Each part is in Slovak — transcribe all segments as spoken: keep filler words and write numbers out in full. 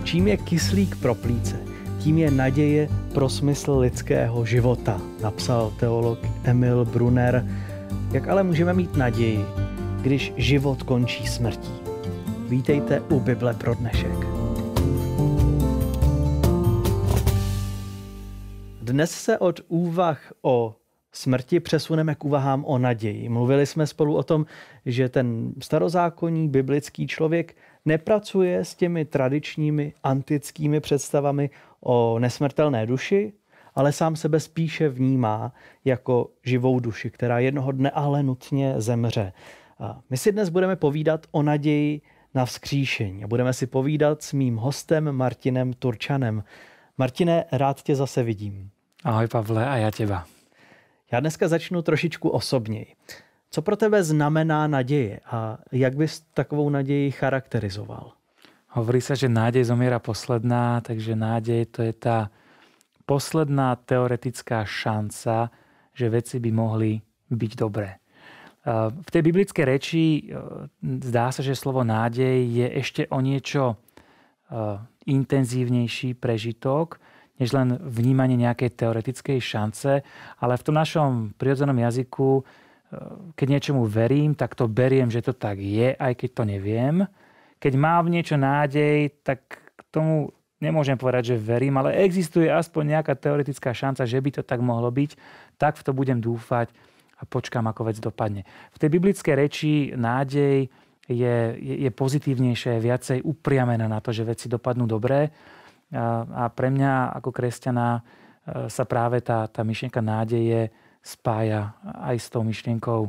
Čím je kyslík pro plíce, tím je naděje pro smysl lidského života, napsal teolog Emil Brunner. Jak ale můžeme mít naději, když život končí smrtí? Vítejte u Bible pro dnešek. Dnes se od úvah o smrti přesuneme k úvahám o naději. Mluvili jsme spolu o tom, že ten starozákonní biblický člověk nepracuje s těmi tradičními antickými představami o nesmrtelné duši, ale sám sebe spíše vnímá jako živou duši, která jednoho dne ale nutně zemře. A my si dnes budeme povídat o naději na vzkříšení a budeme si povídat s mým hostem Martinem Turčanem. Martine, rád tě zase vidím. Ahoj Pavle, a já těba. Já dneska začnu trošičku osobněji. Co pro tebe znamená naděje a jak bys takovou naději charakterizoval? Hovorí sa, že nádej zomiera posledná, takže nádej to je tá posledná teoretická šanca, že veci by mohli byť dobré. V tej biblickej reči zdá sa, že slovo nádej je ešte o niečo intenzívnejší prežitok, než len vnímanie nejakej teoretickej šance, ale v tom našom prirodzenom jazyku, keď niečomu verím, tak to beriem, že to tak je, aj keď to neviem. Keď mám v niečo nádej, tak k tomu nemôžem povedať, že verím, ale existuje aspoň nejaká teoretická šanca, že by to tak mohlo byť, tak v to budem dúfať a počkám, ako vec dopadne. V tej biblickej reči nádej je, je, je pozitívnejšie, viacej upriamená na to, že veci dopadnú dobre. A pre mňa ako kresťana sa práve tá, tá myšlienka nádeje spája aj s tou myšlienkou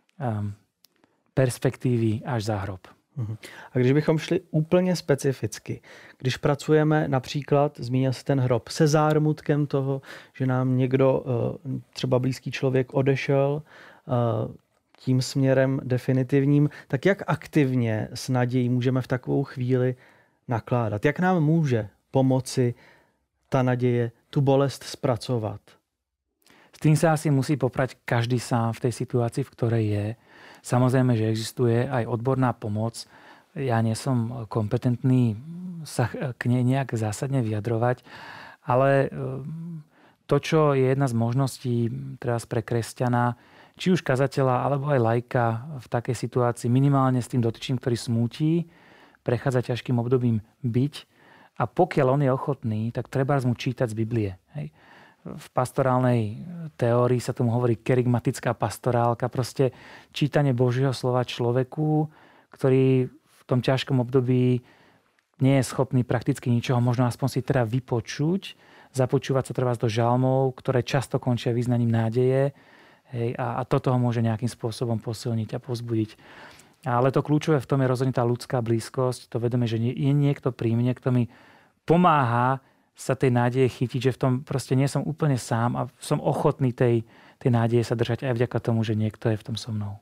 perspektívy až za hrob. A když bychom šli úplně specificky, když pracujeme například, zmínil se ten hrob, se zármutkem toho, že nám někdo, třeba blízký člověk, odešel tím směrem definitivním, tak jak aktivně s nadějí můžeme v takovou chvíli nakládat? Jak nám může pomoci tá nadeje tú bolest spracovať? S tým sa asi musí poprať každý sám v tej situácii, v ktorej je. Samozrejme, že existuje aj odborná pomoc. Ja nie som kompetentný sa k nej nejak zásadne vyjadrovať, ale to, čo je jedna z možností teraz pre kresťana, či už kazateľa, alebo aj laika v takej situácii, minimálne s tým dotyčným, ktorý smúti, prechádza ťažkým obdobím byť. A pokiaľ on je ochotný, tak treba mu čítať z Biblie. Hej. V pastorálnej teórii sa tomu hovorí kerygmatická pastorálka. Proste čítanie Božieho slova človeku, ktorý v tom ťažkom období nie je schopný prakticky ničoho, možno aspoň si teda vypočuť, započúvať sa treba do žalmov, ktoré často končia význaním nádeje. Hej, a, a toto ho môže nejakým spôsobom posilniť a povzbudiť. Ale to kľúčové v tom je rozhodne tá ľudská blízkosť, to vedomie, že je niekto pri mne, kto mi pomáha sa tej nádeje chytiť, že v tom proste nie som úplne sám a som ochotný tej, tej nádeje sa držať aj vďaka tomu, že niekto je v tom so mnou.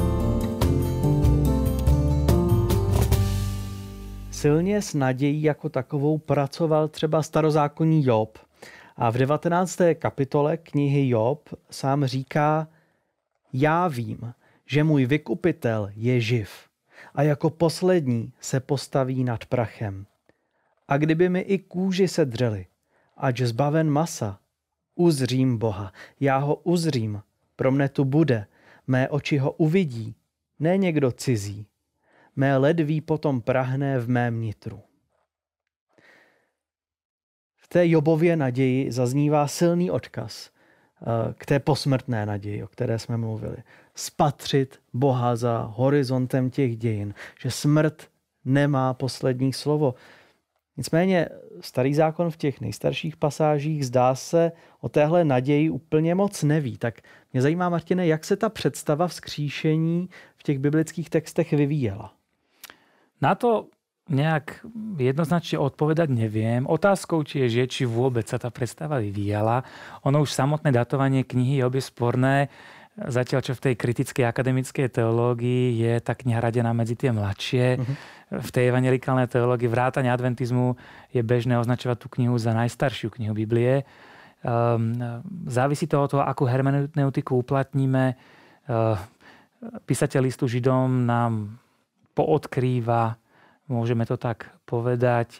Silně s nadějí jako takovou pracoval třeba starozákonní Job. A v devatenácté kapitole knihy Job sám říká: Já vím, že můj vykupitel je živ a jako poslední se postaví nad prachem. A kdyby mi i kůži sedřeli, ač zbaven masa, uzřím Boha, já ho uzřím, pro mne tu bude, mé oči ho uvidí, ne někdo cizí, mé ledví potom prahne v mém nitru. V té Jobově naději zaznívá silný odkaz k té posmrtné naději, o které jsme mluvili. Spatřit Boha za horizontem těch dějin, že smrt nemá poslední slovo. Nicméně starý zákon v těch nejstarších pasážích zdá se o téhle naději úplně moc neví. Tak mě zajímá, Martine, jak se ta představa vzkříšení v těch biblických textech vyvíjela? Na to nejak jednoznačne odpovedať neviem. Otázkou či je, že či vôbec sa tá predstava vyvíjala. Ono už samotné datovanie knihy Job je sporné. Zatiaľ, čo v tej kritickej akademickej teológii je tá kniha radená medzi tie mladšie. Uh-huh. V tej evangelikálnej teológii vrátane adventizmu je bežné označovať tú knihu za najstaršiu knihu Biblie. Um, závisí to od toho, akú hermeneutiku uplatníme. Uh, písateľ listu Židom nám poodkrýva, môžeme to tak povedať,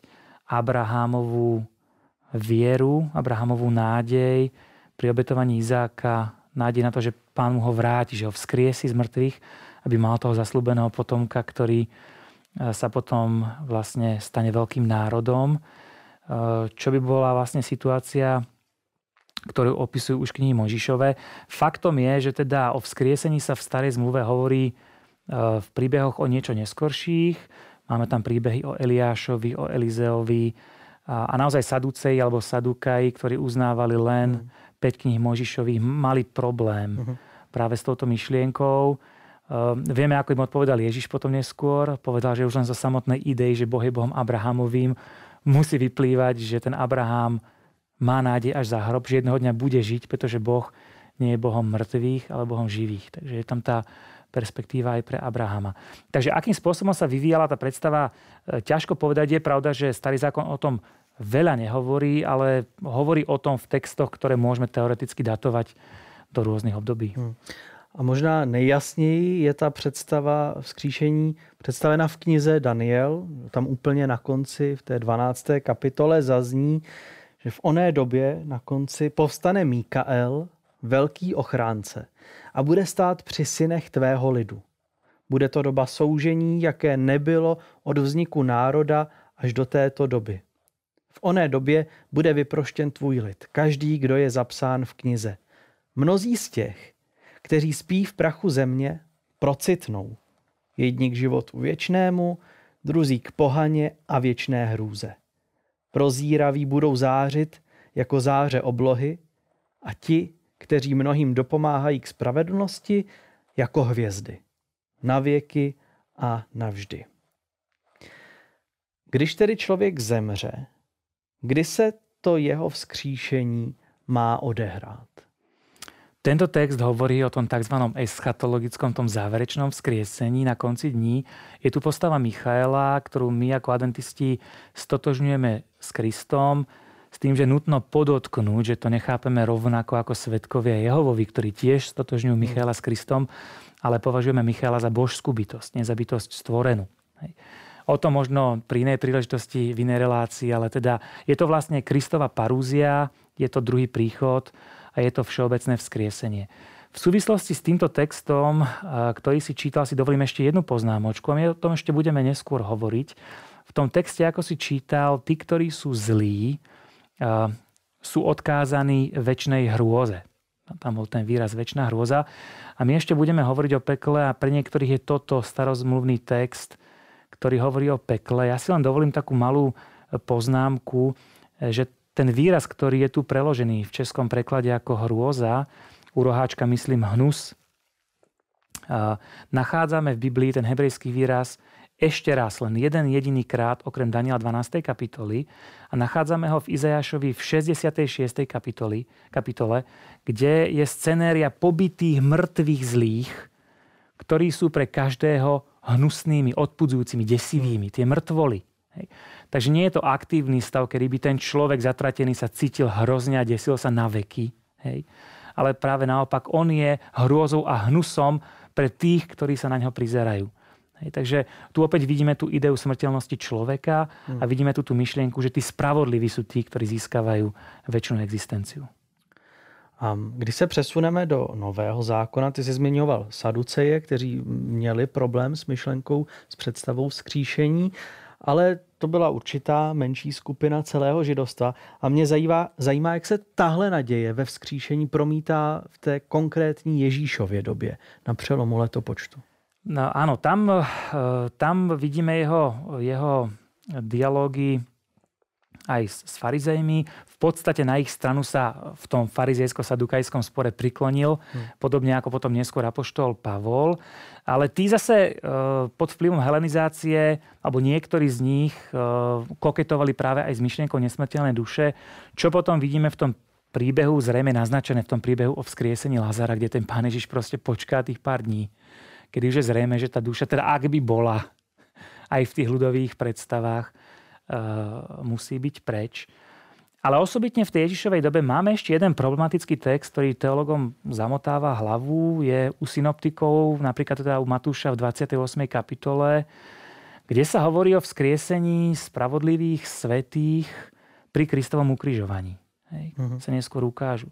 Abrahamovú vieru, Abrahamovú nádej pri obetovaní Izáka, nádej na to, že Pán mu ho vráti, že ho vzkriesí z mŕtvych, aby mal toho zasľúbeného potomka, ktorý sa potom vlastne stane veľkým národom. Čo by bola vlastne situácia, ktorú opisujú už knihy Mojžišove. Faktom je, že teda o vzkriesení sa v starej zmluve hovorí v príbehoch o niečo neskorších. Máme tam príbehy o Eliášovi, o Elizeovi a naozaj Saduceji alebo Sadukaji, ktorí uznávali len mm. päť kníh Mojžišových, mali problém mm-hmm. práve s touto myšlienkou. Vieme, ako im odpovedal Ježiš potom neskôr. Povedal, že už len zo samotnej idei, že Boh je Bohom Abrahamovým, musí vyplývať, že ten Abraham má nádej až za hrob, že jedného dňa bude žiť, pretože Boh nie je Bohom mŕtvych, ale Bohom živých. Takže je tam tá perspektíva aj pre Abrahama. Takže akým spôsobom sa vyvíjala tá predstava, ťažko povedať. Je pravda, že Starý zákon o tom veľa nehovorí, ale hovorí o tom v textoch, ktoré môžeme teoreticky datovať do rôznych období. Hmm. A možná nejjasněji je ta představa vzkříšení představena v knize Daniel. Tam úplně na konci, v té dvanácté kapitole zazní, že v oné době na konci povstane Mikael, velký ochránce, a bude stát při synech tvého lidu. Bude to doba soužení, jaké nebylo od vzniku národa až do této doby. V oné době bude vyproštěn tvůj lid, každý, kdo je zapsán v knize. Mnozí z těch, kteří spí v prachu země, procitnou. Jedni k životu věčnému, druzí k pohaně a věčné hrůze. Prozíraví budou zářit jako záře oblohy a ti, kteří mnohým dopomáhají k spravedlnosti, jako hvězdy. Na věky a navždy. Když tedy člověk zemře, kdy se to jeho vzkříšení má odehrát? Tento text hovorí o tom tzv. Eschatologickom, tom záverečnom vzkriesení na konci dní. Je tu postava Michaela, ktorú my ako adventisti stotožňujeme s Kristom, s tým, že nutno podotknúť, že to nechápeme rovnako ako svedkovia Jehovovi, ktorí tiež stotožňujú Michaela s Kristom, ale považujeme Michaela za božskú bytosť, nie za bytosť stvorenú. Hej. O tom možno pri inej príležitosti, v inej relácii, ale teda je to vlastne Kristova parúzia, je to druhý príchod a je to všeobecné vzkriesenie. V súvislosti s týmto textom, ktorý si čítal, si dovolím ešte jednu poznámočku a my o tom ešte budeme neskôr hovoriť. V tom texte, ako si čítal, tí, ktorí sú zlí, sú odkázaní večnej hrôze. Tam bol ten výraz večná hrôza. A my ešte budeme hovoriť o pekle a pre niektorých je toto starozmluvný text, ktorý hovorí o pekle. Ja si len dovolím takú malú poznámku, že ten výraz, ktorý je tu preložený v českom preklade ako hrôza, u roháčka myslím hnus, nachádzame v Biblii ten hebrejský výraz ešte raz, len jeden jediný krát, okrem Daniela dvanástej kapitoly, a nachádzame ho v Izajašovi v šesťdesiatej šiestej kapitoli, kapitole, kde je scenéria pobitých mŕtvych zlých, ktorí sú pre každého hnusnými, odpudzujúcimi, desivými, tie mŕtvoly. Hej. Takže nie je to aktívny stav, kedy by ten človek zatratený sa cítil hrozne a desil sa na veky. Hej. Ale práve naopak, on je hrôzou a hnusom pre tých, ktorí sa na ňo prizerajú. Hej. Takže tu opäť vidíme tú ideu smrteľnosti človeka a vidíme tu tú myšlienku, že tí spravodliví sú tí, ktorí získavajú večnú existenciu. A když se přesuneme do Nového zákona, ty jsi zmiňoval Saduceje, kteří měli problém s myšlenkou, s představou vzkříšení, ale to byla určitá menší skupina celého židovstva. A mě zajímá, zajímá, jak se tahle naděje ve vzkříšení promítá v té konkrétní Ježíšově době na přelomu letopočtu. No áno, tam, tam vidíme jeho, jeho dialógy aj s, s farizejmi. V podstate na ich stranu sa v tom farizejsko-sadukajskom spore priklonil, hmm. podobne ako potom neskôr apoštol Pavol. Ale tí zase pod vplyvom helenizácie, alebo niektorí z nich koketovali práve aj s myšlienkou nesmrteľnej duše, čo potom vidíme v tom príbehu, zrejme naznačené v tom príbehu o vzkriesení Lazara, kde ten Pán Ježiš proste počká tých pár dní, kedy už je zrejme, že tá duša, teda ak by bola aj v tých ľudových predstavách, Uh, musí byť preč. Ale osobitne v tej Ježišovej dobe máme ešte jeden problematický text, ktorý teologom zamotáva hlavu. Je u synoptikov, napríklad teda u Matúša v dvadsiatej ôsmej kapitole, kde sa hovorí o vzkriesení spravodlivých svätých pri Kristovom ukrižovaní. Hej, uh-huh. sa neskôr ukážu.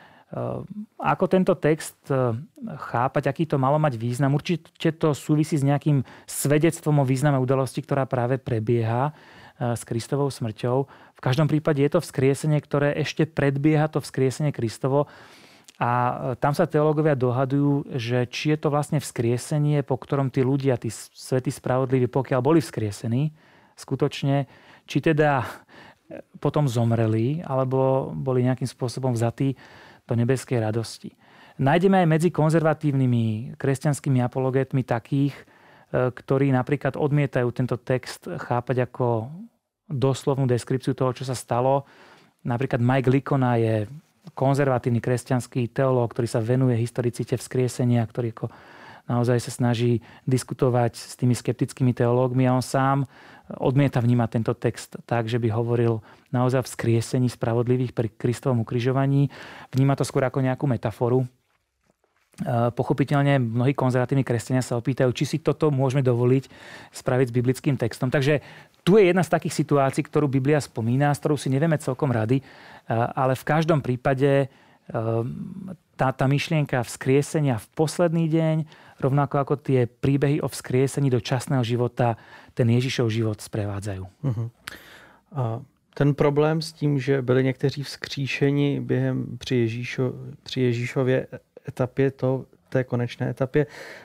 Ako tento text chápať, aký to malo mať význam? Určite to súvisí s nejakým svedectvom o význame udalosti, ktorá práve prebieha s Kristovou smrťou. V každom prípade je to vzkriesenie, ktoré ešte predbieha to vzkriesenie Kristovo. A tam sa teológovia dohadujú, že či je to vlastne vzkriesenie, po ktorom tí ľudia, tí svätí spravodliví, pokiaľ boli vzkriesení, skutočne, či teda potom zomreli, alebo boli nejakým spôsobom vzatí do nebeskej radosti. Nájdeme aj medzi konzervatívnymi kresťanskými apologetmi takých, ktorí napríklad odmietajú tento text chápať ako doslovnú deskripciu toho, čo sa stalo. Napríklad Mike Licona je konzervatívny kresťanský teológ, ktorý sa venuje historicite vzkriesenia, ktorý ako naozaj sa snaží diskutovať s tými skeptickými teológmi a on sám odmieta vnímať tento text tak, že by hovoril naozaj o vzkriesení spravodlivých pri Kristovom ukrižovaní. Vníma to skôr ako nejakú metaforu. Pochopiteľne mnohí konzervatívni kresťania sa opýtajú, či si toto môžeme dovoliť spraviť s biblickým textom. Takže tu je jedna z takých situácií, ktorú Biblia spomína, s ktorou si nevieme celkom rady, ale v každom prípade tá, tá myšlienka vzkriesenia v posledný deň, rovnako ako tie príbehy o vzkriesení do časného života, ten Ježišov život sprevádzajú. Uh-huh. A ten problém s tím, že byli někteří vzkříšeni během při, Ježíšo, při Ježíšově etapě, to, té konečné etapě,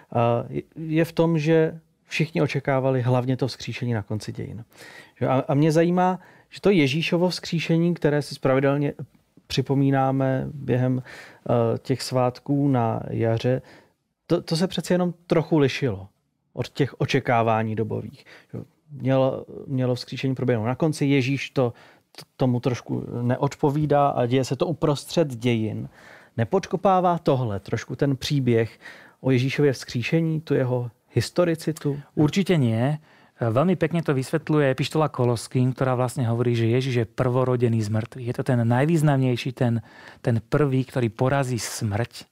je v tom, že všichni očekávali hlavně to vzkříšení na konci dějin. A, a mě zajímá, že to Ježíšovo vzkříšení, které si pravidelně připomínáme během uh, těch svátků na jaře, to, to se přece jenom trochu lišilo od těch očekávání dobových. Mělo, mělo vzkříšení proběhnout na konci, Ježíš to, to tomu trošku neodpovídá a děje se to uprostřed dějin. Nepodkopává tohle trošku ten příběh o Ježíšově vzkříšení, tu jeho historicitu? Určite nie. Veľmi pekne to vysvetľuje epištola Koloským, ktorá vlastne hovorí, že Ježiš je prvorodený z mŕtvych. Je to ten najvýznamnejší, ten, ten prvý, ktorý porazí smrť,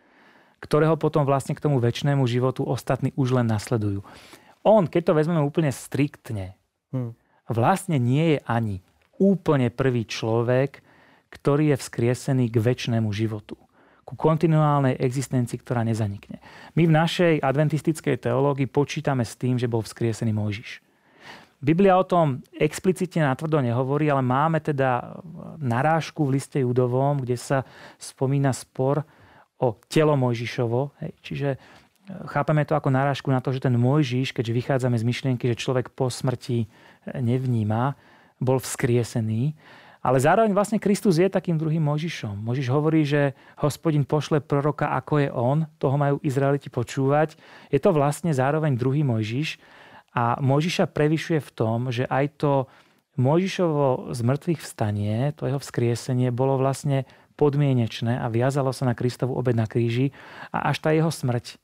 ktorého potom vlastne k tomu večnému životu ostatní už len nasledujú. On, keď to vezmeme úplne striktne, hmm. vlastne nie je ani úplne prvý človek, ktorý je vzkriesený k večnému životu, ku kontinuálnej existencii, ktorá nezanikne. My v našej adventistickej teológii počítame s tým, že bol vzkriesený Mojžiš. Biblia o tom explicitne natvrdo nehovorí, ale máme teda narážku v liste Judovom, kde sa spomína spor o telo Mojžišovo. Hej, čiže chápeme to ako narážku na to, že ten Mojžiš, keďže vychádzame z myšlienky, že človek po smrti nevníma, bol vzkriesený. Ale zároveň vlastne Kristus je takým druhým Mojžišom. Mojžiš hovorí, že Hospodin pošle proroka, ako je on. Toho majú Izraeliti počúvať. Je to vlastne zároveň druhý Mojžiš. A Mojžiša prevyšuje v tom, že aj to Mojžišovo zmrtvých vstanie, to jeho vzkriesenie, bolo vlastne podmienečné a viazalo sa na Kristovu obed na kríži. A až tá jeho smrť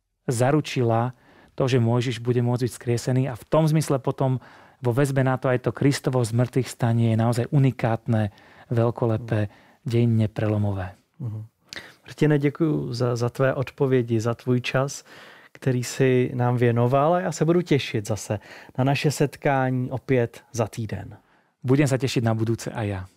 zaručila to, že Mojžiš bude môcť byť vzkriesený. A v tom zmysle potom vo väzbe na to aj to Kristovo zmrtvých stanie je naozaj unikátne, veľkolepé, dejinne prelomové. Uh-huh. Martine, děkuji za, za tvé odpovědi, za tvůj čas, který si nám věnoval, a já se budu těšit zase na naše setkání opět za týden. Budem sa tešiť na budúce aj ja.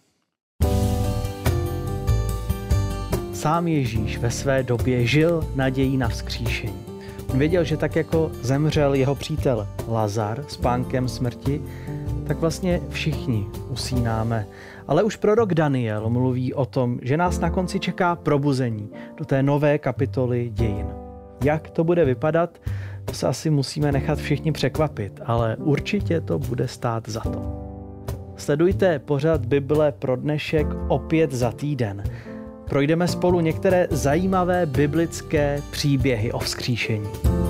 Sám Ježíš ve své době žil nadějí na vzkříšení. On věděl, že tak jako zemřel jeho přítel Lazar s pánkem smrti, tak vlastně všichni usínáme. Ale už prorok Daniel mluví o tom, že nás na konci čeká probuzení do té nové kapitoly dějin. Jak to bude vypadat, to se asi musíme nechat všichni překvapit, ale určitě to bude stát za to. Sledujte pořad Bible pro dnešek opět za týden. Projdeme spolu některé zajímavé biblické příběhy o vzkříšení.